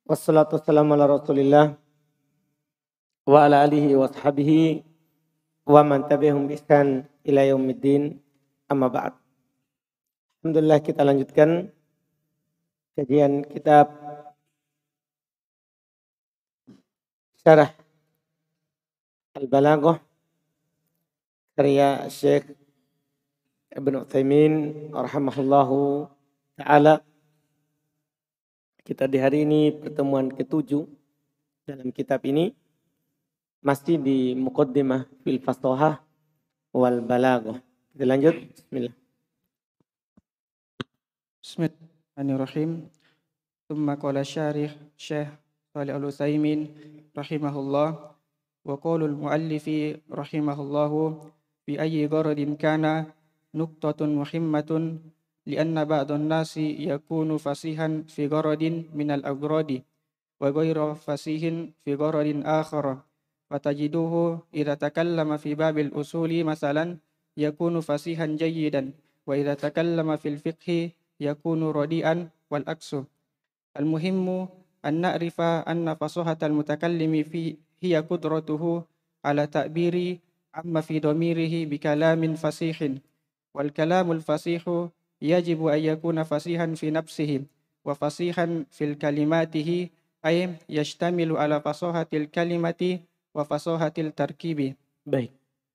Wassalatu wassalamu ala rasulillah wa ala alihi wa sahbihi wa man tabi'ahum bi ihsan ila yaumiddin, amma ba'd. Alhamdulillah, kita lanjutkan kajian kitab Syarah Al-Balaghah karya Syekh Ibnu Utsaimin rahimahullahu ta'ala. Kita di hari ini pertemuan ke-7 dalam kitab ini, masih di Muqaddimah fil Fasahah wal Balaghah. Kita lanjut. Bismillah. Bismillahirrahmanirrahim. Tsumma qala syarih Syekh Shalih Al-Utsaimin rahimahullah wa qaulul muallifi rahimahullahu fi ayyi gharadin kana nuqtatun muhimmatun lianna ba'dhan nasi yakunu fasihan fi gharadin minal aghradi wa ghairu fasihin fi gharadin akhar. Fatajiduhu idza takallama fi babil usuli masalan yakunu fasihan jayyidan wa idza takallama fil fiqhi yakunu radian wal aksu. Al-muhimmu an na'rifa anna fasahatal mutakallimi fi hiya qudratuhu ala ta'biri amma fi dhamirihi bi kalamin fasihin. Wal kalamul fasihu yajibu an yakuna fasihan fi nafsihi wa fasihan fil kalimatihi ay yashtamilu ala fasahatil kalimati wa fasahatil tarkibi. Baik.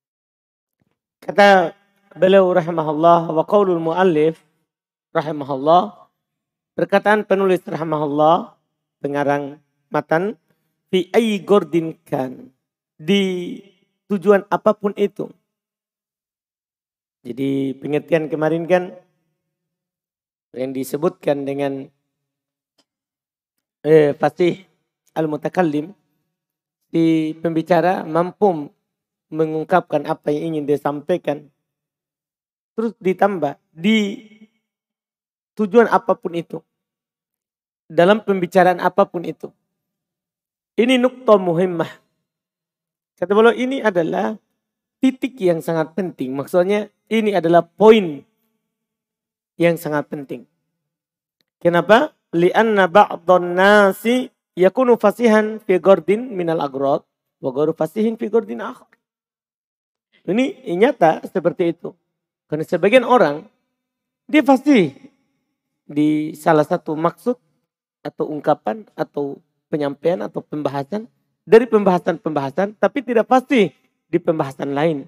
Kata beliau rahimahullah, wa qaulul muallif rahimahullah, perkataan penulis rahimahullah, pengarang matan, fi ayyi gordin kan, di tujuan apapun itu. Jadi pengertian kemarin kan yang disebutkan dengan fasih al-mutakallim, si pembicara mampu mengungkapkan apa yang ingin dia sampaikan. Terus ditambah di tujuan apapun itu, dalam pembicaraan apapun itu. Ini nuqtah muhimmah. Kata beliau, ini adalah titik yang sangat penting. Maksudnya ini adalah poin yang sangat penting. Kenapa? Li'anna ba'dhan nasi yakunu fasihan fi gordin minal agrad wa ghairu fasihin fi gordin akhar. Ini nyata seperti itu. Karena sebagian orang dia fasih di salah satu maksud atau ungkapan atau penyampaian atau pembahasan dari pembahasan-pembahasan, tapi tidak pasti di pembahasan lain.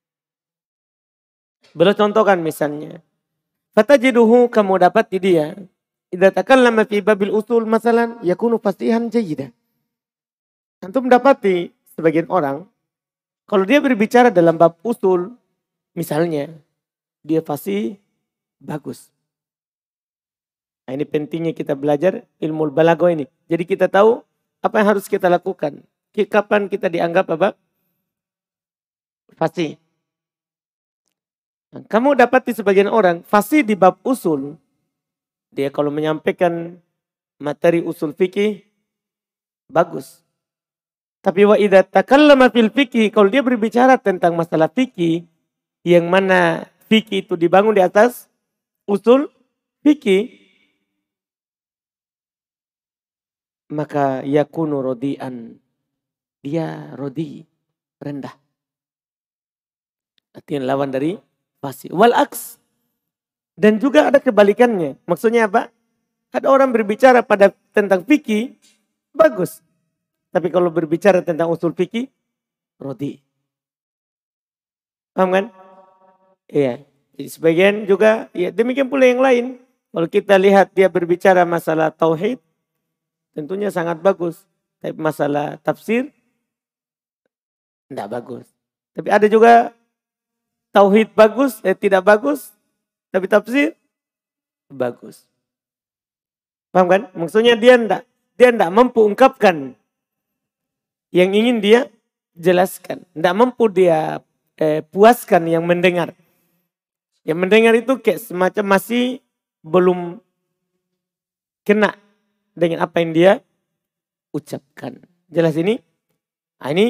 Beliau contohkan misalnya, fatajiduhu, kamu dapat di dia, idza takallama fi babil usul masalan yakunu fasihan jayyidan. Antum dapati sebagian orang kalau dia berbicara dalam bab usul, misalnya dia fasih bagus. Nah, ini pentingnya kita belajar ilmu balaghah ini. Jadi kita tahu apa yang harus kita lakukan. Kapan kita dianggap apa? Fasih. Nah, kamu dapati sebagian orang fasih di bab usul. Dia kalau menyampaikan materi usul fikih bagus. Tapi wa idza takallama fil fikih, kalau dia berbicara tentang masalah fikih yang mana fikih itu dibangun di atas usul fikih, maka yakunu rodian, dia rodi, rendah. Artinya lawan dari fasih. Wal aks, dan juga ada kebalikannya. Maksudnya apa? Ada orang berbicara tentang fikih bagus, tapi kalau berbicara tentang usul fikih rodi. Paham kan? Iya. Jadi sebagian juga ya demikian pula yang lain. Kalau kita lihat dia berbicara masalah tauhid, tentunya sangat bagus. Tapi masalah tafsir tidak bagus. Tapi ada juga tauhid bagus, tidak bagus, tapi tafsir bagus. Paham kan? Maksudnya dia tidak mampu ungkapkan yang ingin dia jelaskan. Tidak mampu dia puaskan yang mendengar. Yang mendengar itu kayak semacam masih belum kena dengan apa yang dia ucapkan. Jelas ini? Nah, ini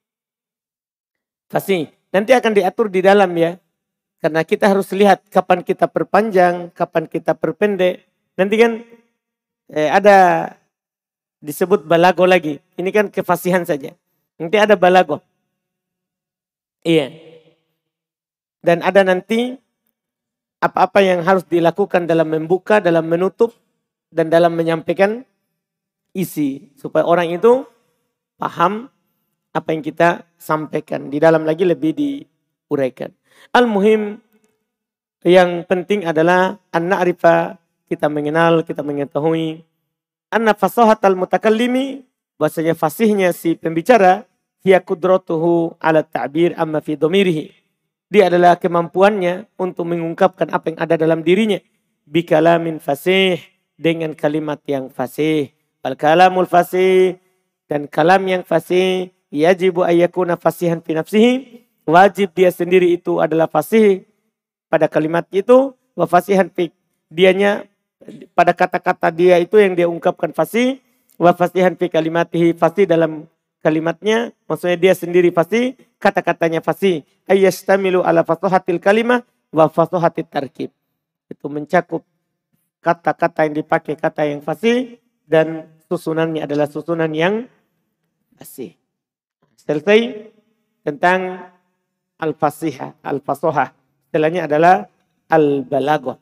fasih. Nanti akan diatur di dalam ya. Karena kita harus lihat kapan kita perpanjang, kapan kita perpendek. Nanti kan ada disebut balago lagi. Ini kan kefasihan saja. Nanti ada balago. Iya. Dan ada nanti apa-apa yang harus dilakukan dalam membuka, dalam menutup, dan dalam menyampaikan isi. Supaya orang itu paham apa yang kita sampaikan. Di dalam lagi lebih diuraikan. Al-muhim, yang penting adalah an-na'rifa, kita mengenal, kita mengetahui. Anna fasahatal mutakallimi, bahasanya fasihnya si pembicara, hiya kudratuhu ala ta'bir amma fi dhamirihi. Dia adalah kemampuannya untuk mengungkapkan apa yang ada dalam dirinya. Bikalamin fasih, dengan kalimat yang fasih. Al kalamul fasih, dan kalam yang fasih, yajibu ayyakuna fasihan fi nafsihi. Wajib dia sendiri itu adalah fasih pada kalimat itu. Wa fasihan fi, dianya pada kata-kata dia itu yang dia ungkapkan fasih. Wa fasihan fi kalimatihi, fasih dalam kalimatnya, maksudnya dia sendiri fasih, kata-katanya fasih. Ayyastamilu ala fasahatil kalimah wa fasahatit tarkib. Itu mencakup kata-kata yang dipakai, kata yang fasih, dan susunannya adalah susunan yang fasih. Selesai tentang al-fasihah, al-fasohah. Setelahnya adalah al-balaghah.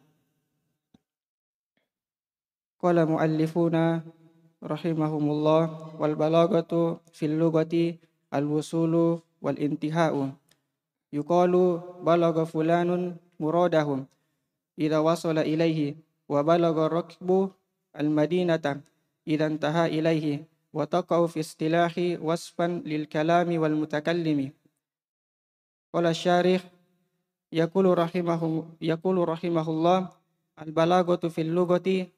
Qala muallifuna rahimahumullah wal balaghatu fil lughati al wusulu wal intihau. Yuqalu balagha fulanun muradahum idza wasala ilaihi wa balagha rakbu al madinata idza intaha ilaihi wa taqau fi istilahi wasfan lil kalami wal mutakallimi. Qala syarih yaqulu rahimahullah al balaghatu fil lughati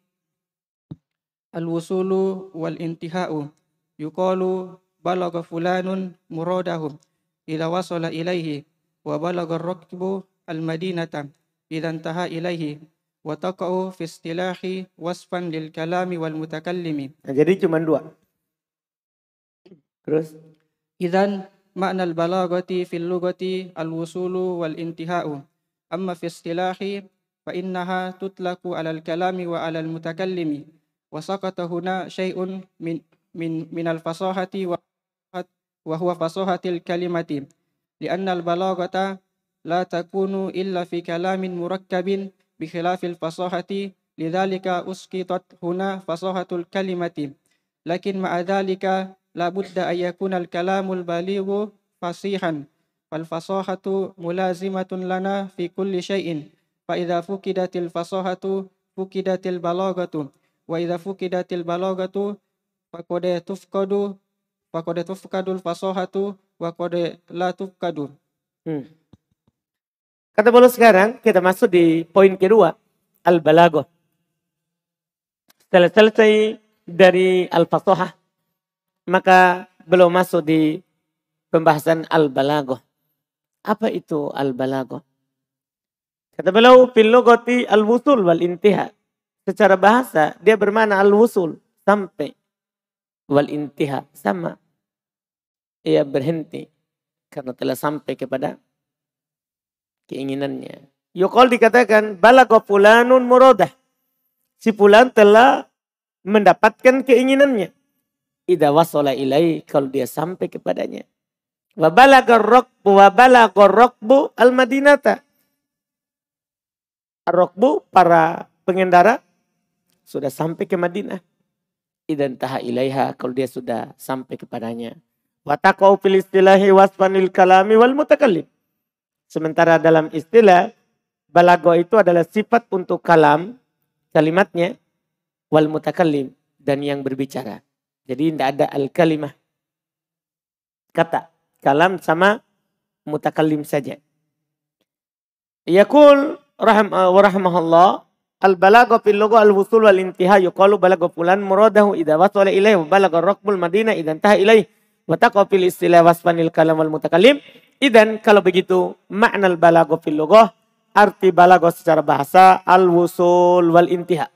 al-wusulu wal-intihau. Yuqalu balagha fulanun muradahum idza wasala ilaihi wa balagha ar-rakbu al-madinata idza intaha ilaihi wa taqa'u fi istilahi wasfan lil kalami wal mutakallimi. Nah, jadi cuma dua. Terus Idzan makna al-balaghati fil lughati al-wusulu wal-intihau. Amma fi istilahi fa innaha tutlaqu 'ala al-kalami wa 'ala al-mutakallimi. Wasaqata huna syai'un min al-fasahati wa huwa fasahatil kalimati li'anna al-balaghata la takunu illa fi kalamin murakkabin bi khilafil fasahati lidzalika usqitat huna fasahatul kalimati lakin ma'a dzalika la budda ay yakuna al-kalamul balighu fasihan fal fasahatu mulazimatun lana fi kulli syai'in fa idza fuqidatil fasahatu fuqidatil balaghatu wa idza fuqidatil balaghatu faqad tufkadul fasahatu wa qad la tufkadu. Kata beliau sekarang kita masuk di poin kedua, al-balaghah. Setelah selesai dari al-fasahah, maka beliau masuk di pembahasan al-balaghah. Apa itu al-balaghah? Kata beliau fil lughati al-wusul wal intiha. Secara bahasa dia bermakna al-wusul, sampai, wal intiha, sama, ia berhenti karena telah sampai kepada keinginannya. Yuqal dikatakan balagha fulanun muradah, si fulan telah mendapatkan keinginannya. Idza wasala ilai, kalau dia sampai kepadanya. Wa balagha ar-rakbu al-madinata. Ar-rakbu, para pengendara, sudah sampai ke Madinah. Idan taha ilaiha, kalau dia sudah sampai kepadanya. Wa taqau fil istilahi wasfanil kalami wal mutakallim. Sementara dalam istilah balaghah itu adalah sifat untuk kalam, kalimatnya, wal mutakallim, dan yang berbicara. Jadi tidak ada al-kalimah, kata. Kalam sama mutakallim saja. Yaqul rahimahullah al-balaghah fil lugha al-wusul wal intiha. Yuqalu balagha fulan muradahu idza wasala ilaihi wa balagha rakbul madinah idza intaha ilaihi wa taqa fil istilah wasfanil kalam wal mutakallim. Idan kalau begitu makna al-balaghah fil lugha, arti balaghah secara bahasa al-wusul wal intiha.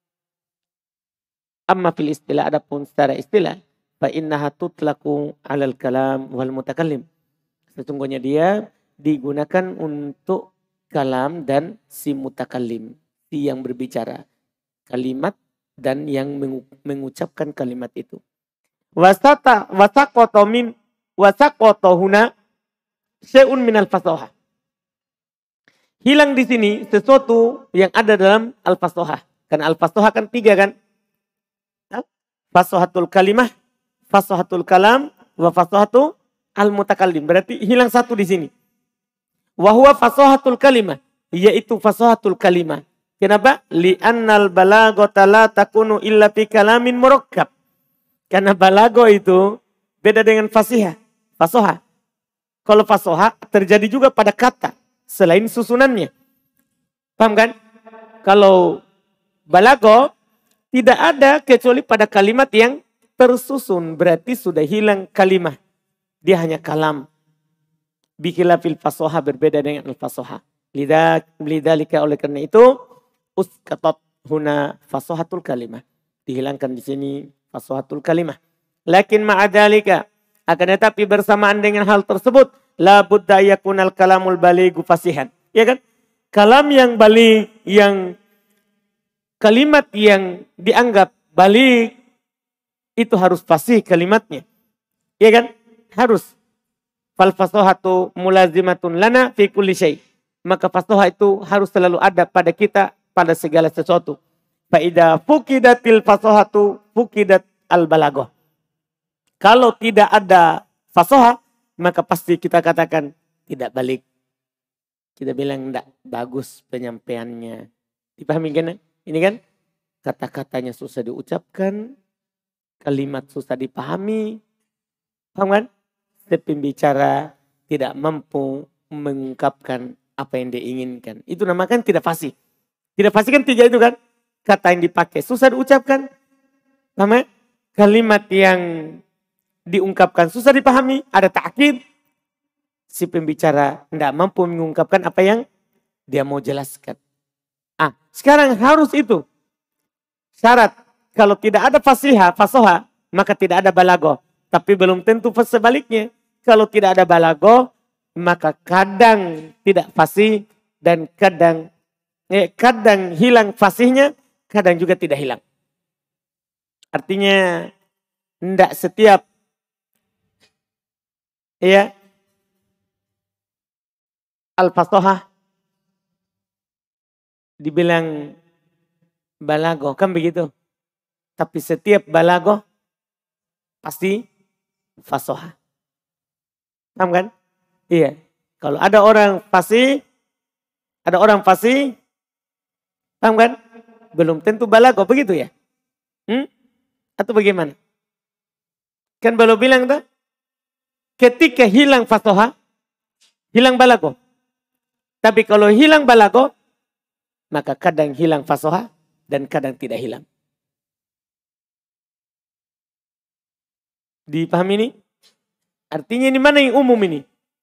Amma fil istilah, adapun secara istilah, fa innaha tutlaqu 'alal kalam wal mutakallim. Sesungguhnya dia digunakan untuk kalam dan si mutakallim, si yang berbicara. Kalimat dan yang mengucapkan kalimat itu. Wasaqata huna syai'un minal fasohah. Hilang di sini sesuatu yang ada dalam al-fasohah. Karena al-fasohah kan 3 kan. Fasohatul kalimah, fasohatul kalam, wa fasohatu al-mutakallim. Berarti hilang 1 di sini. Wa huwa fasohatul kalimah. Yaitu fasohatul kalimah. Kenapa? Li'annal balaghata la takunu illa fi kalamin murakkab. Karena balago itu beda dengan fasihah. Fasohah. Kalau fasohah terjadi juga pada kata selain susunannya. Paham kan? Kalau balago tidak ada kecuali pada kalimat yang tersusun. Berarti sudah hilang kalimah. Dia hanya kalam. Bikhilafil fasohah, berbeda dengan al-fasohah. Lidzalika, oleh karena itu uskatot huna fasohatul kalimah. Dihilangkan di sini fasohatul kalimah. Lakin ma'adalika, akan tetapi bersamaan dengan hal tersebut, la budda yakunal kalamul balighu fasihan. Ya kan? Kalam yang baligh, yang kalimat yang dianggap baligh itu harus fasih kalimatnya. Ya kan? Harus. Fal fasohatu mulazimatun lana fi kulli syai'. Maka fasohah itu harus selalu ada pada kita pada segala sesuatu. Fa idza fuqidatil fasohatu fuqidat al balaghah. Kalau tidak ada fasohah, maka pasti kita katakan tidak balik. Kita bilang tidak bagus penyampaiannya. Dipahami kan? Ini kan kata-katanya susah diucapkan, kalimat susah dipahami. Paham kan? Pembicara tidak mampu mengungkapkan apa yang dia inginkan. Itu namakan tidak fasih. Tidak fasih kan 3 itu kan? Kata yang dipakai susah diucapkan. Paham? Kalimat yang diungkapkan susah dipahami, ada ta'kid. Si pembicara tidak mampu mengungkapkan apa yang dia mau jelaskan. Sekarang harus itu. Syarat, kalau tidak ada fasoha, maka tidak ada balago. Tapi belum tentu sebaliknya. Kalau tidak ada balago, maka kadang tidak fasih dan kadang hilang fasihnya, kadang juga tidak hilang. Artinya tidak setiap al-fasohah dibilang balago, kan begitu. Tapi setiap balago pasti fasohah. Paham kan? Iya. Kalau ada orang fasih, paham kan? Belum tentu balago, begitu ya? Atau bagaimana? Kan baru bilang tuh, ketika hilang fasohah, hilang balago. Tapi kalau hilang balago, maka kadang hilang fasohah dan kadang tidak hilang. Dipahami ini? Artinya ini mana yang umum ini?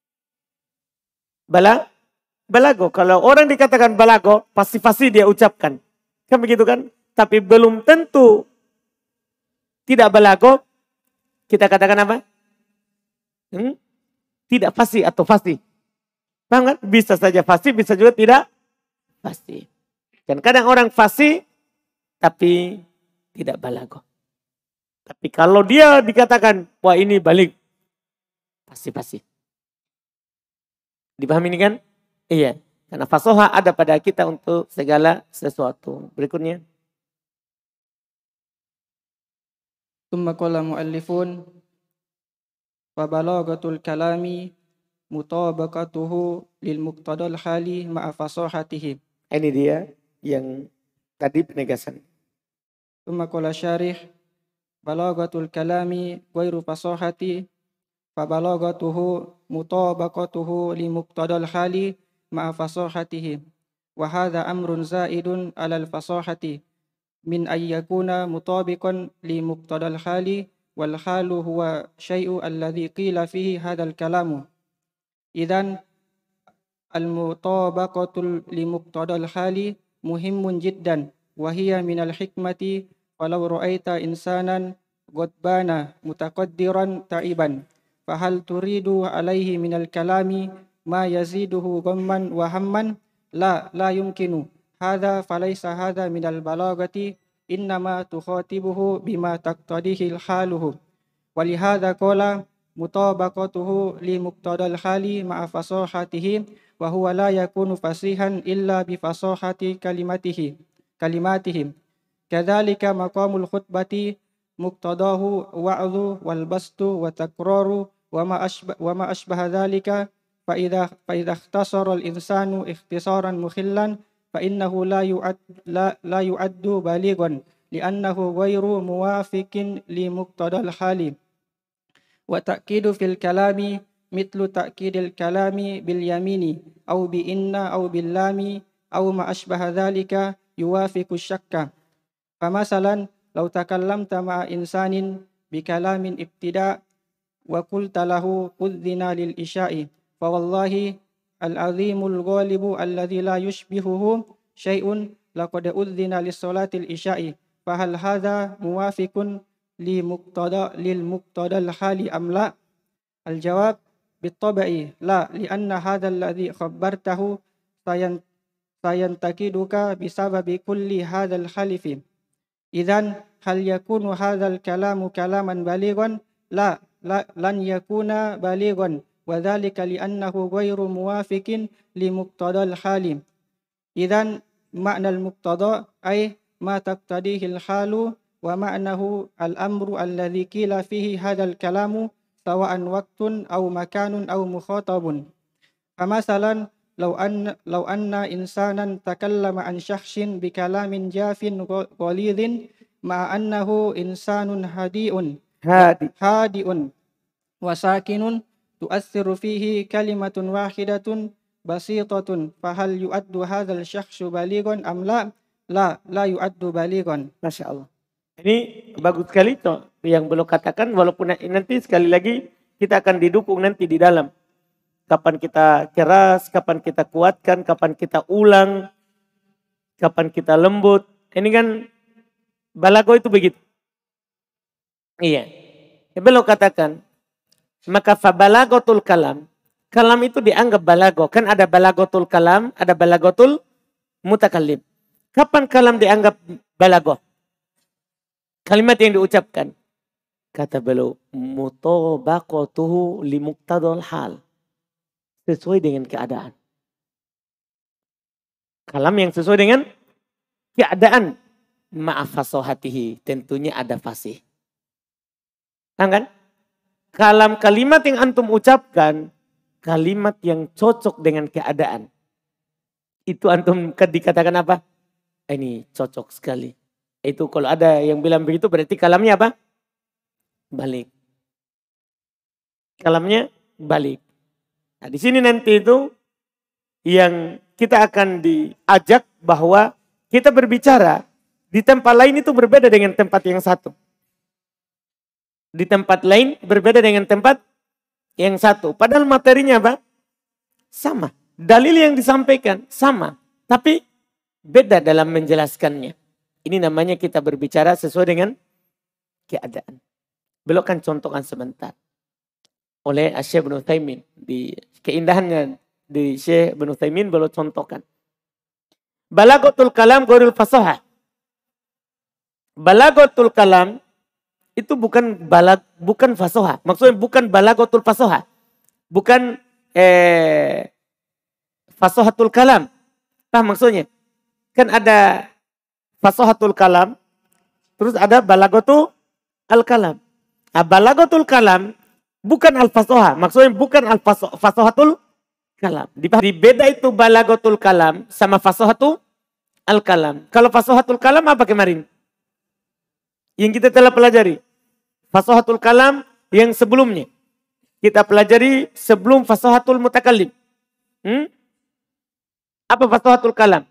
Balago. Kalau orang dikatakan balago, pasti dia ucapkan. Kan begitu kan? Tapi belum tentu tidak balago, kita katakan apa? Tidak fasih atau fasih. Paham kan? Bisa saja fasih, bisa juga tidak fasih. Dan kadang orang fasih, tapi tidak balago. Tapi kalau dia dikatakan, wah ini balik, pasti. Dipahami ini kan? Iya. Karena fasoha ada pada kita untuk segala sesuatu. Berikutnya. Tsumma qala muallifun wa balaghatul kalami mutabaqatuhu lil muqtadal hali ma'a fasahatihi. Ini dia yang tadi penegasan. Tsumma qala syarih balaghatul kalami ghairu fasahati fa balaghatuhu mutabaqatuhu li muqtadal hali ma'a fasahatihi wa hadha amrun zaidun 'alal fasahati min ayyakuna mutabiqan li muqtadal hali wal halu huwa syai'u alladhi qila fihi hadzal kalamu idzan al mutabaqatul li muqtadal hali muhimmun jiddan wa hiya minal hikmati walau ra'aita insanan ghadbana mutaqaddiran ta'iban fahal turidu alaihi minal kalami ma yaziduhu ghamman wa hamman la yumkinu hadza falaysa hadza minal balagati إنما تخاطبه بما تقتضيه حاله. ولهذا قال مطابقته لمقتضى الحال مع فصاحته، وهو لا يكون فصيحا إلا بفصاحة كلماته. كذلك مقام الخطبة مقتضاه وعظ والبسط والتكرار وما أشبه ذلك. فإذا اختصر الإنسان اختصارا مخلا فإنه لا يعد بالغا، لأنه غير موافق لمقتضى الحال. وتأكيد في الكلام مثل تأكيد الكلام باليمين أو بإن أو باللام أو ما أشبه ذلك يوافق الشك. فمثلا لو تكلمت مع إنسان بكلام ابتداء وقلت له أذن للإشاء، فوالله العظيم الغالب الذي لا يشبهه شيء لقد أذن لصلاة الإشاء، فهل هذا موافق للمقتضى الحال أم لا؟ الجواب بالطبع لا، لأن هذا الذي خبرته سينتقدك بسبب كل هذا الخلف. إذن هل يكون هذا الكلام كلاما بالغا؟ لا لن يكون بالغا، وذلك لأنه غير موافق لمقتضى الحال. إذن معنى المقتضى أي ما تقتضيه الحال، ومعناه الأمر الذي قيل فيه هذا الكلام سواء وقت أو مكان أو مخاطب. فمثلا لو أن إنسانا تكلم عن شخص بكلام جاف غليظ مع أنه إنسان هادئ وساكن تؤثر فيه كلمة واحدة بسيطة، فهل يؤد هذا الشخص بالغا أم لا؟ لا يؤد بالغا. Masya Allah. Ini bagus sekali toh yang belum katakan, walaupun nanti sekali lagi kita akan didukung nanti di dalam. Kapan kita keras, kapan kita kuatkan, kapan kita ulang, kapan kita lembut. Ini kan balago itu begitu. Iya. Ya belum katakan. Maka fabalagotul kalam. Kalam itu dianggap balago. Kan ada balagotul kalam, ada balagotul mutakallim. Kapan kalam dianggap balago? Kalimat yang diucapkan. Kata beliau, mutabaqatuhu limuqtadal hal. Sesuai dengan keadaan. Kalam yang sesuai dengan keadaan. Ma'af fasohatihi. Tentunya ada fasih. Kan? Kalam kalimat yang antum ucapkan. Kalimat yang cocok dengan keadaan. Itu antum dikatakan apa? Ini cocok sekali. Itu kalau ada yang bilang begitu berarti kalamnya apa? Balik. Kalamnya balik. Nah, di sini nanti itu yang kita akan diajak bahwa kita berbicara di tempat lain itu berbeda dengan tempat yang satu. Di tempat lain berbeda dengan tempat yang satu. Padahal materinya apa? Sama. Dalil yang disampaikan sama. Tapi beda dalam menjelaskannya. Ini namanya kita berbicara sesuai dengan keadaan. Belokkan contohkan sebentar. Oleh Syekh Ibnu Utsaimin. Di keindahannya di Syekh Ibnu Utsaimin belok contohkan. Balaghatul kalam ghairul fasahah. Balaghatul kalam itu bukan fasoha. Maksudnya bukan balaghatul fasoha. Bukan fasohatul kalam. Paham maksudnya? Kan ada fasohatul kalam, terus ada balaghatul al-kalam. Nah, balaghatul kalam bukan al-fasoha. Maksudnya bukan al-fasohatul kalam. Dibeda itu balaghatul kalam sama fasohatul al-kalam. Kalau fasohatul kalam apa kemarin? Yang kita telah pelajari. Fasohatul kalam yang sebelumnya. Kita pelajari sebelum fasohatul mutakallim. Apa fasohatul kalam?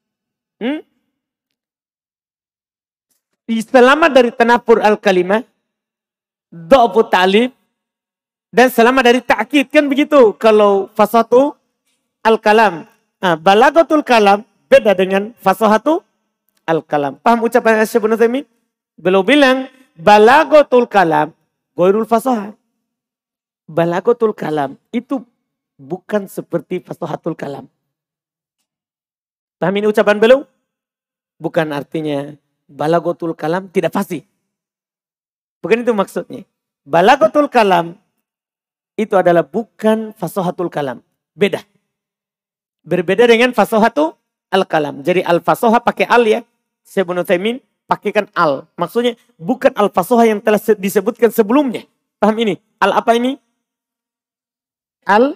Selamat dari tanafur al-kalimah, dha'fu ta'lif, dan selamat dari ta'kid. Kan begitu kalau fasohatul al-kalam. Nah, balaghatul kalam beda dengan fasohatul al-kalam. Paham ucapan Syekh Ibnu Utsaimin? Beliau bilang balaghatul kalam ghairul fasohah. Balaghatul kalam itu bukan seperti fasohatul kalam. Paham ini ucapan beliau? Bukan artinya Balagotul kalam tidak fasih. Bukan itu maksudnya. Balagotul kalam itu adalah bukan fasohatul kalam. Beda. Berbeda dengan fasohatul al-kalam. Jadi al-fasoha pakai al ya. Syekh Ibnu Utsaimin pakaikan al. Maksudnya bukan al-fasoha yang telah disebutkan sebelumnya. Paham ini? Al apa ini? Al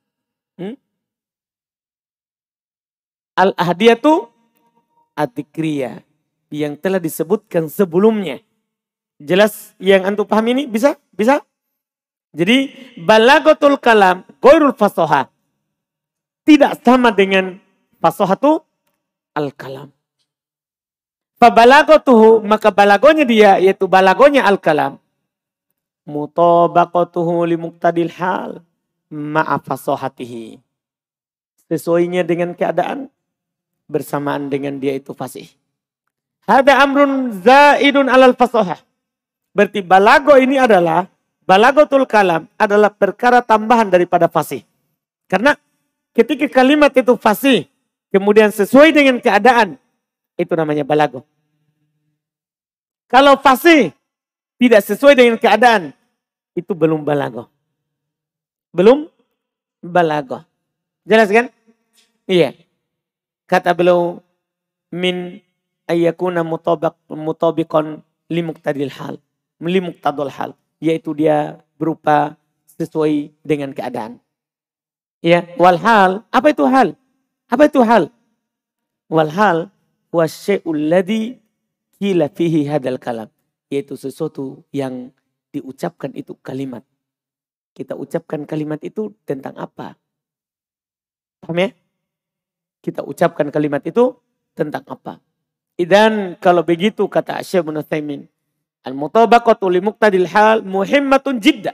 Al-Ahdiyatu Atikriyah yang telah disebutkan sebelumnya. Jelas yang antum paham ini? Bisa? Bisa? Jadi balagotul kalam ghairul fasoha tidak sama dengan fasohatu al-kalam. Fabalagotuhu maka balagonya dia yaitu balagonya al-kalam. Mutabaqatuhu limuqtadil hal ma'a fasohatihi. Sesuainya dengan keadaan bersamaan dengan dia itu fasih. Hada amrun zaidun alal fasohah. Berarti balago ini adalah, balagotul kalam adalah perkara tambahan daripada fasih. Karena ketika kalimat itu fasih, kemudian sesuai dengan keadaan, itu namanya balago. Kalau fasih tidak sesuai dengan keadaan, itu belum balago. Belum balago. Jelas kan? Iya. Kata beliau, min ayyakuna mutabiqan limuqtadil hal. Limuqtadul hal. Yaitu dia berupa sesuai dengan keadaan. Ya, wal hal. Apa itu hal? Apa itu hal? Wal hal wa syai'ul ladzi qila fihi hadal kalam. Yaitu sesuatu yang diucapkan itu kalimat. Kita ucapkan kalimat itu tentang apa? Paham ya? Kita ucapkan kalimat itu tentang apa? Dan kalau begitu kata Syekh Ibnu Utsaimin, al-mutabaqatu li muqtadil hal muhimmatun jidda.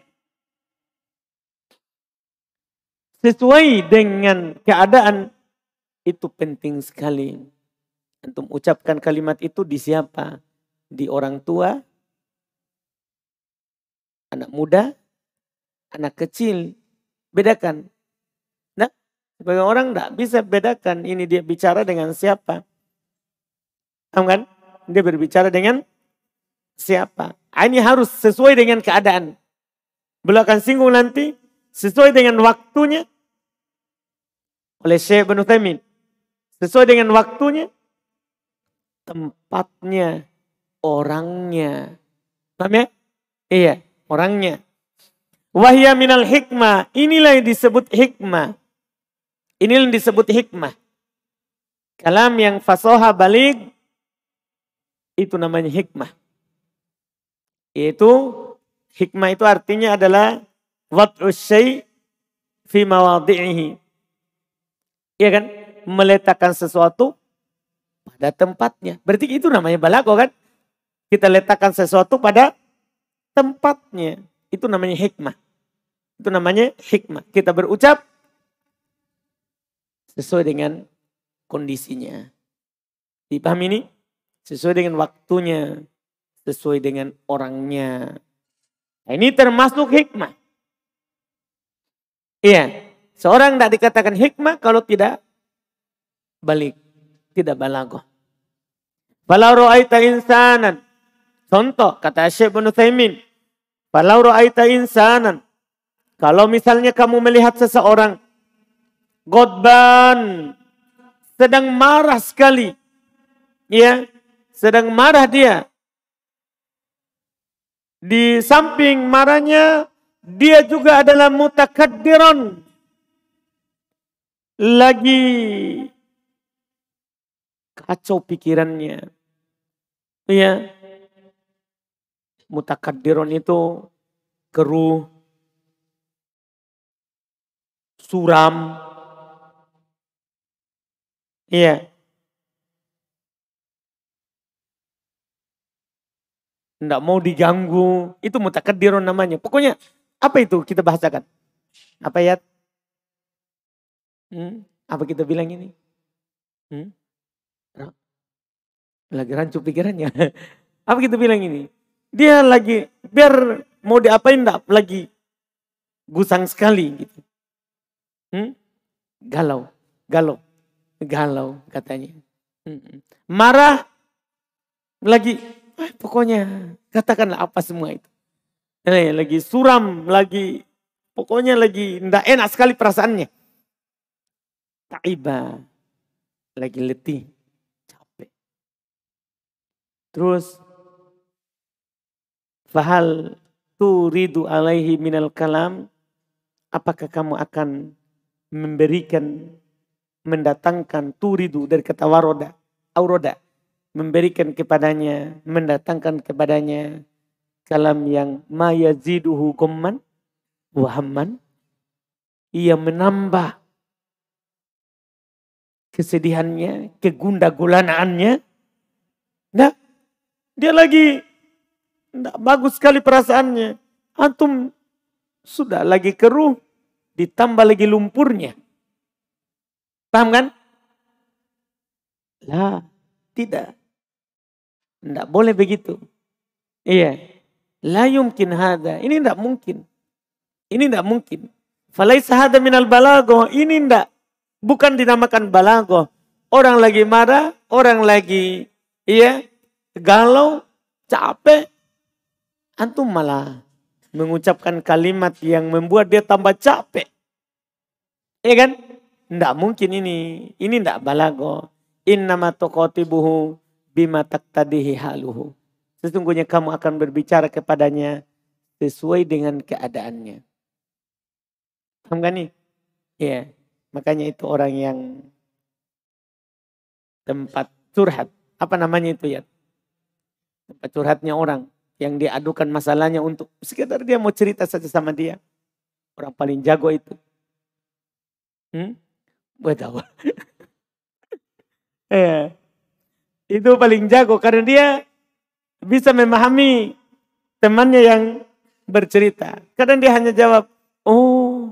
Sesuai dengan keadaan itu penting sekali. Antum ucapkan kalimat itu di siapa? Di orang tua, anak muda, anak kecil. Bedakan. Nah, sebagai orang tidak bisa bedakan ini dia bicara dengan siapa. Paham kan? Dia berbicara dengan siapa. Ini harus sesuai dengan keadaan. Beliau akan singgung nanti sesuai dengan waktunya oleh Syekh Ibnu Utsaimin. Sesuai dengan waktunya, tempatnya, orangnya. Paham ya? Iya, orangnya. Wahya minal hikmah. Inilah yang disebut hikmah. Inilah yang disebut hikmah. Kalam yang fasoha baligh itu namanya hikmah. Yaitu hikmah itu artinya adalah wad'us syai' fi mawadhi'ihi. Iya kan? Meletakkan sesuatu pada tempatnya. Berarti itu namanya balago kan? Kita letakkan sesuatu pada tempatnya. Itu namanya hikmah. Itu namanya hikmah. Kita berucap sesuai dengan kondisinya. Dipahami ini? Sesuai dengan waktunya. Sesuai dengan orangnya. Nah, ini termasuk hikmah. Iya. Seorang tidak dikatakan hikmah kalau tidak balik. Tidak balaghah. Falau ra'aita insanan. Contoh kata Syekh Ibnu Utsaimin. Falau ra'aita insanan. Kalau misalnya kamu melihat seseorang. Ghadban. Sedang marah sekali. Ya. Sedang marah dia. Di samping marahnya. Dia juga adalah mutakaddiran. Lagi kacau pikirannya. Ya. Mutakaddiran itu keruh. Suram. Iya. Tidak mau diganggu. Itu mutakaddirun namanya. Pokoknya apa itu kita bahasakan? Apa ya? Apa kita bilang ini? Lagi rancu pikirannya. Apa kita bilang ini? Dia lagi biar mau diapain enggak lagi gusang sekali gitu. Galau katanya. Marah Lagi, pokoknya katakanlah apa semua itu. Lagi suram, lagi pokoknya lagi tidak enak sekali perasaannya. Ta'iba, lagi letih, capek. Terus, fahal turidu alaihi minal kalam, apakah kamu akan memberikan, mendatangkan turidu dari kata waroda, auroda, memberikan kepadanya, mendatangkan kepadanya kalam yang ma yaziduhu ghamman wa hamman, ia menambah kesedihannya, kegundagulanaannya. Nah, dia lagi tidak bagus sekali perasaannya. Antum sudah lagi keruh, ditambah lagi lumpurnya. Paham kan? Lah, tidak. Tidak boleh begitu. Iya. La yumkin hada. Ini tidak mungkin. Ini tidak mungkin. Falaisa hada minal balago. Ini tidak. Bukan dinamakan balago. Orang lagi marah, orang lagi galau, capek. Antum malah mengucapkan kalimat yang membuat dia tambah capek. Iya kan? Tidak mungkin ini. Ini tidak balago. Innama tuqatibuhu bima taqtadihi haluhu. Sesungguhnya kamu akan berbicara kepadanya sesuai dengan keadaannya. Paham kan nih? Iya. Makanya itu orang yang tempat curhat. Apa namanya itu ya? Tempat curhatnya orang. Yang dia adukan masalahnya untuk sekedar dia mau cerita saja sama dia. Orang paling jago itu. Buat tahu. Itu paling jago karena dia bisa memahami temannya yang bercerita. Kadang dia hanya jawab, oh,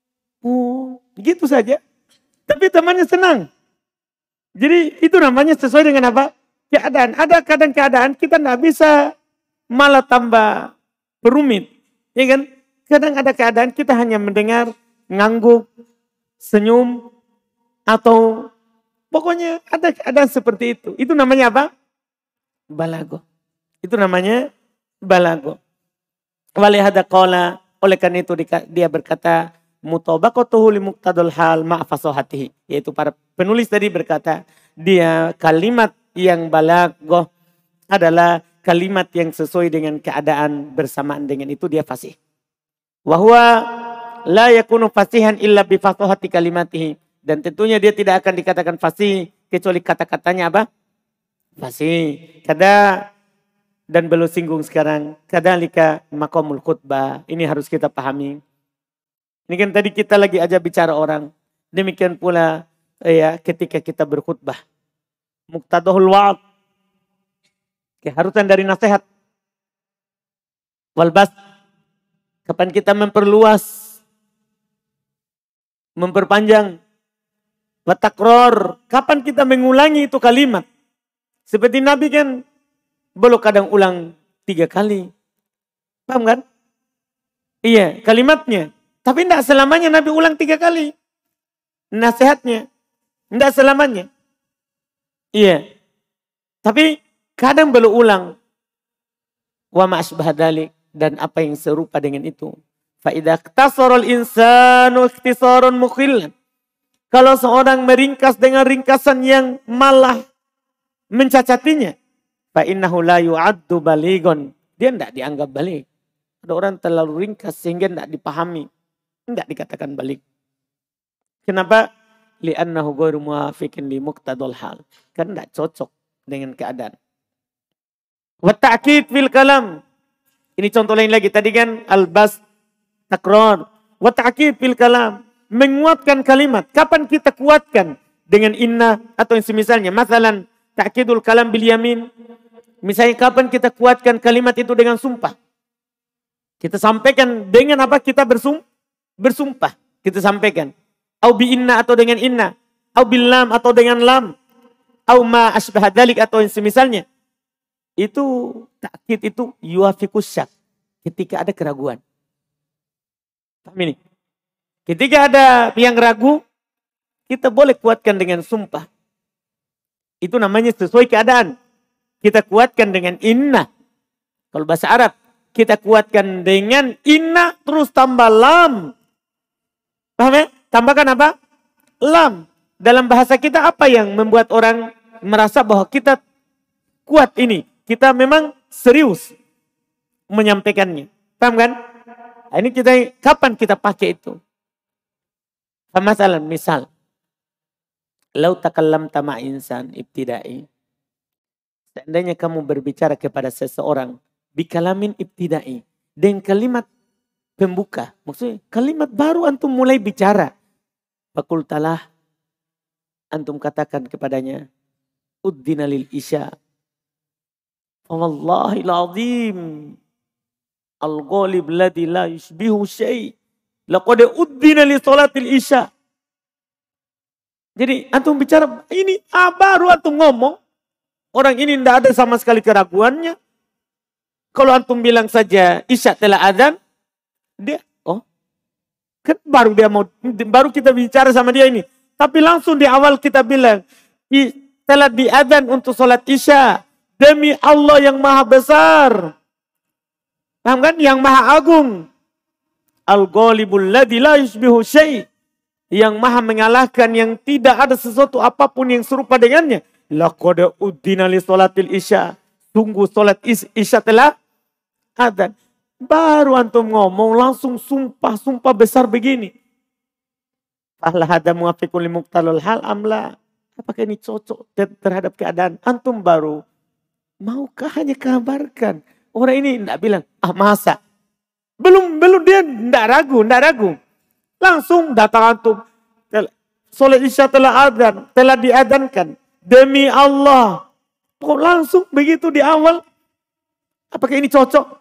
gitu saja. Tapi temannya senang. Jadi itu namanya sesuai dengan apa? Keadaan. Ada kadang keadaan kita tidak bisa malah tambah berumit. Ya kan? Kadang ada keadaan kita hanya mendengar, ngangguk, senyum, atau pokoknya ada keadaan seperti itu. Itu namanya apa? Balago. Itu namanya balago. Walihada qala, oleh karena itu dia berkata mutabaqatuhu li muqtadal hal ma'a fasahatihi, yaitu para penulis tadi berkata dia kalimat yang balago adalah kalimat yang sesuai dengan keadaan, bersamaan dengan itu dia fasih. Wa huwa la yakunu fasihan illa bi fasahati kalimatihi, dan tentunya dia tidak akan dikatakan fasih kecuali kata-katanya apa? Fasih. Dan belum singgung sekarang. Kadzalika maqamul khutbah. Ini harus kita pahami. Ini kan tadi kita lagi aja bicara orang. Demikian pula ketika kita berkhutbah. Muqtadahul wa'ad. Keharusan dari nasihat. Walbas. Kapan kita memperluas. Memperpanjang. Watakror. Kapan kita mengulangi itu kalimat. Seperti Nabi kan. Belum kadang ulang 3 kali. Paham kan? Iya, kalimatnya. Tapi tidak selamanya Nabi ulang 3 kali. Nasihatnya. Tidak selamanya. Iya. Tapi kadang belum ulang. Wa ma'asbah dalik. Dan apa yang serupa dengan itu. Fa'idah ikhtasarul insanu ikhtisarun mukhillan. Kalau seorang meringkas dengan ringkasan yang malah mencacatinya. Fa'innahu la yu'addu baligon. Dia tidak dianggap balik. Ada orang terlalu ringkas sehingga tidak dipahami. Tidak dikatakan balik. Kenapa? Li'annahu ghairu muwafiqin li muqtadal hal. Karena tidak cocok dengan keadaan. Wa ta'kid fil kalam. Ini contoh lain lagi. Tadi kan albas takror. Wa ta'kid fil kalam. Menguatkan kalimat. Kapan kita kuatkan? Dengan inna atau yang semisalnya. Masalan ta'kidul kalam bil yamin. Misalnya kapan kita kuatkan kalimat itu dengan sumpah. Kita sampaikan dengan apa? Kita bersumpah. Kita sampaikan. Au bi inna atau dengan inna. Au bil lam atau dengan lam. Au ma asbah dzalik atau yang semisalnya. Itu takkid itu yuafikus syak. Ketika ada keraguan. Paham ini? Ketika ada yang ragu, kita boleh kuatkan dengan sumpah. Itu namanya sesuai keadaan. kita kuatkan dengan inna. Kalau bahasa Arab, kita kuatkan dengan inna terus tambah lam. Paham ya? Tambahkan apa? Lam. Dalam bahasa kita apa yang membuat orang merasa bahwa kita kuat ini? Kita memang serius menyampaikannya. Paham kan? Nah, ini kapan kita pakai itu? Misal, lau takallamta ma insan ibtidai. Seandainya kamu berbicara kepada seseorang bikalamin ibtidai, dengan kalimat pembuka, maksudnya kalimat baru antum mulai bicara. Fakultalah, antum katakan kepadanya, uddina lil isya. Wallahil azim, al-ghalib ladzi la yushbihu syai'. Laqad uddina li salatil isya. Jadi antum bicara ini baru antum ngomong. Orang ini tidak ada sama sekali keraguannya. Kalau antum bilang saja isya telah adzan, dia kan baru kita bicara sama dia ini. Tapi langsung di awal kita bilang telah diadzan untuk salat isya demi Allah yang maha besar. Paham kan? Yang maha agung. Al-ghalibul ladzi la yushbihu syai'. Yang maha mengalahkan yang tidak ada sesuatu apapun yang serupa dengannya. Laqad uddina li salatil isya. Sungguh salat isya telah adzan. Baru antum ngomong langsung sumpah besar begini. Fahla hada muwafiqun li muqtalul hal amla. Apakah ini cocok terhadap keadaan? Antum baru maukah hanya kabarkan? Orang ini tidak bilang, masa? Belum dia tidak ragu. Langsung datang antum. Salat isya telah adzan, telah diadzankan. Demi Allah. Langsung begitu di awal. Apakah ini cocok?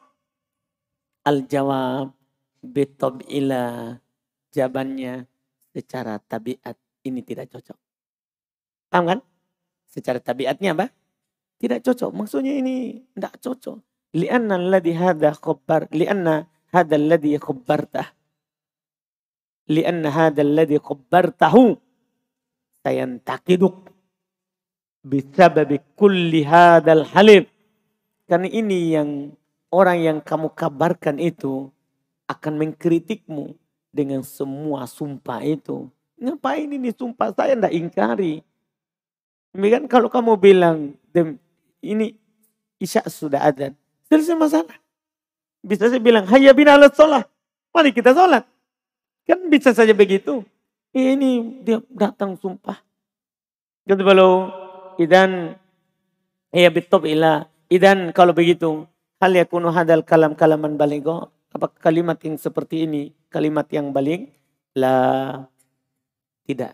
Al-jawab bitab'ila. Jawabannya secara tabiat ini tidak cocok. Paham kan? Secara tabiatnya apa? Tidak cocok. Maksudnya ini tidak cocok. Lianna alladhi hadha khabbar. Lianna hadha alladhi khabbartah. Lianna hadha alladhi khabbartahu. Sayantakiduk. Bisababi kulli hadal halib. Karena ini yang orang yang kamu kabarkan itu akan mengkritikmu dengan semua sumpah itu. Ngapain ini sumpah? Saya tidak ingkari. Kan kalau kamu bilang ini isya sudah adzan, selesai masalah. Bisa saya bilang hayya bina alas sholat. Mari kita sholat. Kan bisa saja begitu. Ini dia datang sumpah. Jadi kalau idan ya bitop ila. Idan kalau begitu hal yakunu hadal kalaman baligho. Apa kalimat yang seperti ini kalimat yang baligh? La, tidak.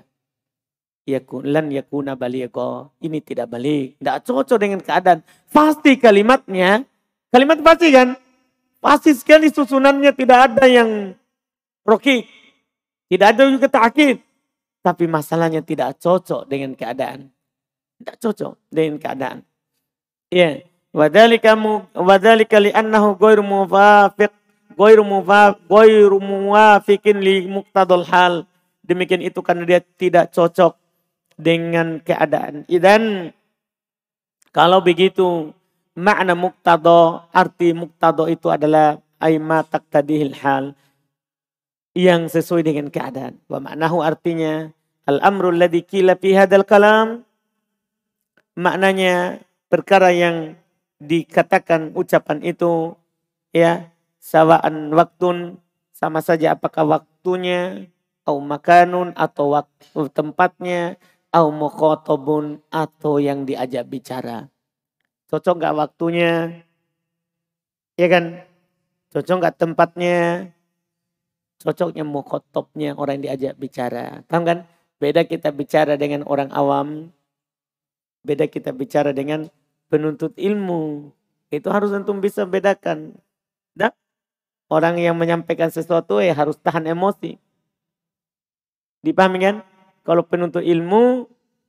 Lan yakuna baligho. Ini tidak baligh. Tidak cocok dengan keadaan. Pasti kalimatnya. Kalimat pasti kan? Pasti sekali susunannya tidak ada yang rokik. Tidak ada juga ta'kid. Tapi masalahnya tidak cocok dengan keadaan. Tidak cocok dengan keadaan. Ya. Wadzalika li'annahu ghairu muwafiqin li muqtadal hal. Demikian itu karena dia tidak cocok dengan keadaan. Dan kalau begitu makna muqtada, arti muqtada itu adalah aima taqtadihil hal, yang sesuai dengan keadaan. Wa maknahu artinya al-amru alladhi qila fi hadzal kalam, maknanya perkara yang dikatakan ucapan itu ya sawaan waktun, sama saja apakah waktunya, au makanun atau waktu tempatnya, au mukhatabun atau yang diajak bicara. Cocok enggak waktunya? Ya kan? Cocok enggak tempatnya? Cocoknya mukhatabnya orang yang diajak bicara. Paham kan? Beda kita bicara dengan orang awam. Beda kita bicara dengan penuntut ilmu. Itu harus antum bisa bedakan. Dan orang yang menyampaikan sesuatu harus tahan emosi. Dipahami kan? Kalau penuntut ilmu,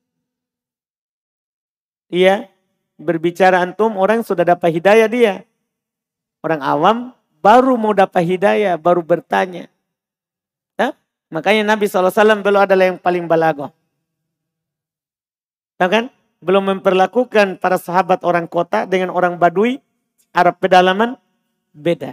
iya, berbicara antum orang sudah dapat hidayah dia. Orang awam baru mau dapat hidayah, baru bertanya. Nah, makanya Nabi SAW beliau adalah yang paling balaghah. Tahu kan? belum memperlakukan para sahabat orang kota dengan orang Badui, Arab pedalaman, beda.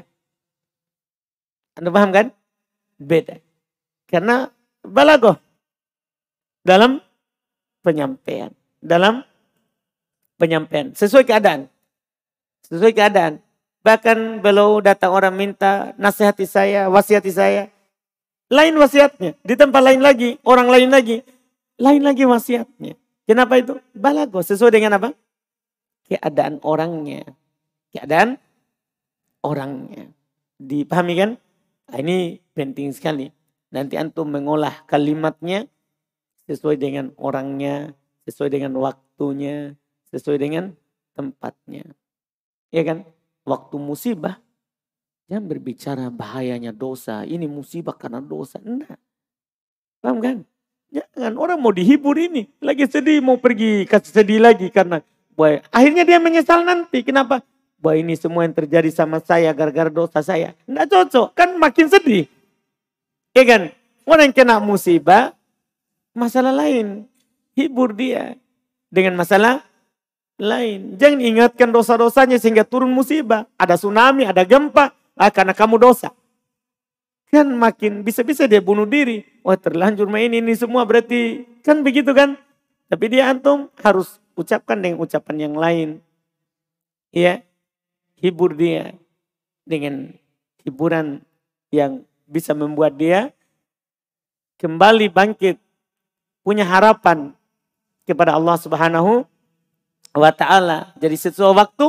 Anda paham kan? Beda. Karena balagoh dalam penyampaian. Dalam penyampaian. Sesuai keadaan. Sesuai keadaan. Bahkan beliau datang orang minta nasihati saya, wasiati saya. Lain wasiatnya. Di tempat lain lagi, orang lain lagi. Lain lagi wasiatnya. Kenapa itu? Balago. Sesuai dengan apa? Keadaan orangnya. Keadaan orangnya. Dipahami kan? Nah, ini penting sekali. Nanti antum mengolah kalimatnya sesuai dengan orangnya, sesuai dengan waktunya, sesuai dengan tempatnya. Ya kan? Waktu musibah, jangan berbicara bahayanya dosa. Ini musibah karena dosa. Enggak. Paham kan? Jangan, orang mau dihibur ini. Lagi sedih, mau pergi kasih sedih lagi. Karena akhirnya dia menyesal nanti. Kenapa? Bahwa ini semua yang terjadi sama saya gara-gara dosa saya. Enggak cocok, kan makin sedih. Ya kan? Orang yang kena musibah, masalah lain. Hibur dia dengan masalah lain. Jangan ingatkan dosa-dosanya sehingga turun musibah. Ada tsunami, ada gempa. Karena kamu dosa. Kan makin bisa-bisa dia bunuh diri. Wah, terlanjur main ini semua berarti. Kan begitu kan. Tapi dia antum harus ucapkan dengan ucapan yang lain. Ya. Hibur dia dengan hiburan yang bisa membuat dia kembali bangkit. Punya harapan kepada Allah Subhanahu wa ta'ala. Jadi sesuai waktu,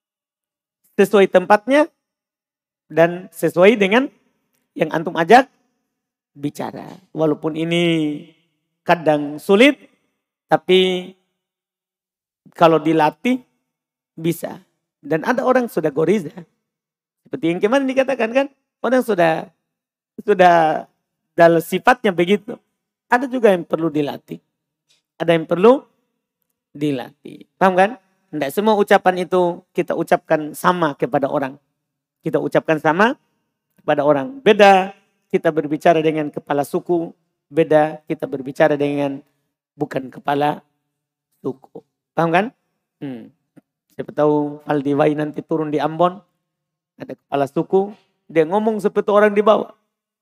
sesuai tempatnya, dan sesuai dengan yang antum ajak bicara. Walaupun ini kadang sulit, tapi kalau dilatih bisa. Dan ada orang sudah goriza. Seperti yang kemarin dikatakan kan, orang sudah dalam sifatnya begitu. Ada juga yang perlu dilatih. Ada yang perlu dilatih. Paham kan? Tidak semua ucapan itu kita ucapkan sama kepada orang. Kita ucapkan sama kepada orang. Beda kita berbicara dengan kepala suku. Beda kita berbicara dengan bukan kepala suku. Paham kan? Siapa tahu Aldi Wai nanti turun di Ambon. Ada kepala suku. Dia ngomong seperti orang di bawah.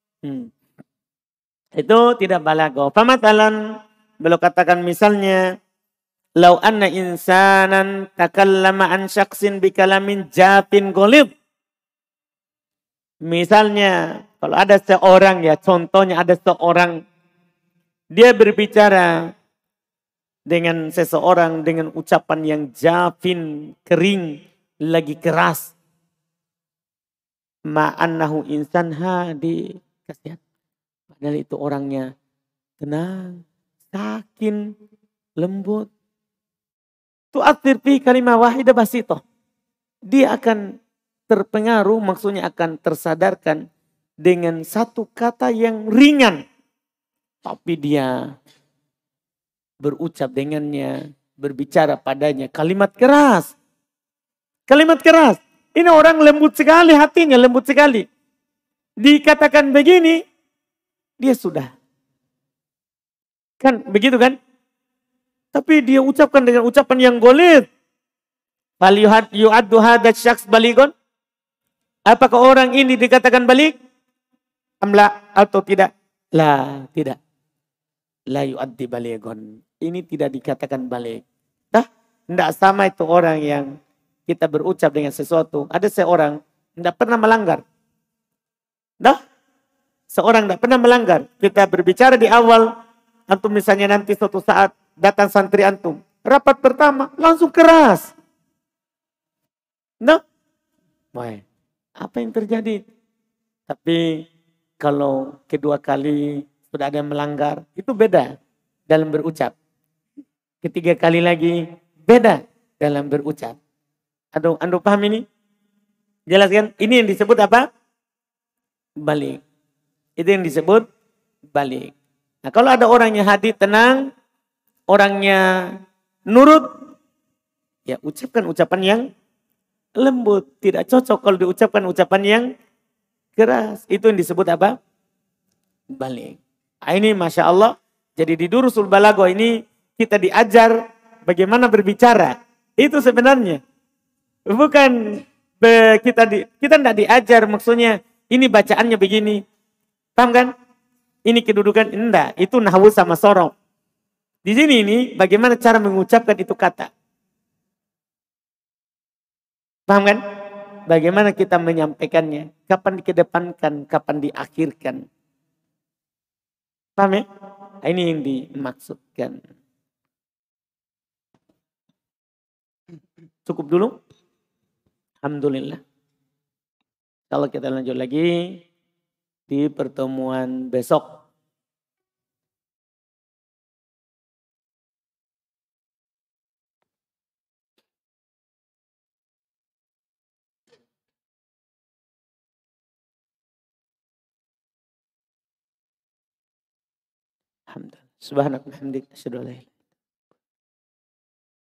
Itu tidak balago. Pamatalan. Beliau katakan misalnya. Lau anna insanan takallama an syaksin bikalamin jafin golib. Misalnya kalau ada seorang ya, contohnya ada seorang. Dia berbicara dengan seseorang dengan ucapan yang jafin, kering, lagi keras. Ma'annahu insan hadi. Kasihan. Padahal itu orangnya tenang, sakin, lembut. Tu'athir fi kalimah wahidah basitoh. Dia akan terpengaruh, maksudnya akan tersadarkan dengan satu kata yang ringan. Tapi dia berucap dengannya, berbicara padanya kalimat keras. Kalimat keras. Ini orang lembut sekali hatinya, lembut sekali. Dikatakan begini, dia sudah. Kan begitu kan? Tapi dia ucapkan dengan ucapan yang golid. Fal yu'addu hadha syakhs baligon? Apakah orang ini dikatakan balik? Amla atau tidak? La, tidak. La yu'addi baligon. Ini tidak dikatakan balik. Tidak sama itu orang yang kita berucap dengan sesuatu. Ada seorang tidak pernah melanggar. Seorang tidak pernah melanggar. Kita berbicara di awal. Antum misalnya nanti suatu saat datang santri antum. Rapat pertama langsung keras. Apa yang terjadi? Tapi kalau kedua kali sudah ada yang melanggar. Itu beda dalam berucap. Ketiga kali lagi beda dalam berucap. Anda paham ini? Jelaskan. Ini yang disebut apa? Balik. Itu yang disebut balik. Nah kalau ada orang yang hati tenang, orangnya nurut, ya ucapkan ucapan yang lembut. Tidak cocok kalau diucapkan ucapan yang keras. Itu yang disebut apa? Balik. Nah, ini Masya Allah. Jadi di Durusul Balaghah ini kita diajar bagaimana berbicara. Itu sebenarnya. Bukan kita tidak diajar maksudnya ini bacaannya begini. Paham kan? Ini kedudukan, enggak. Itu nahwu sama sorof. Di sini ini bagaimana cara mengucapkan itu kata. Paham kan? Bagaimana kita menyampaikannya. Kapan dikedepankan, kapan diakhirkan. Paham ya? Ini yang dimaksudkan. Cukup dulu. Alhamdulillah. Kalau kita lanjut lagi di pertemuan besok. Alhamdulillah. Subhanallah. Alhamdulillah.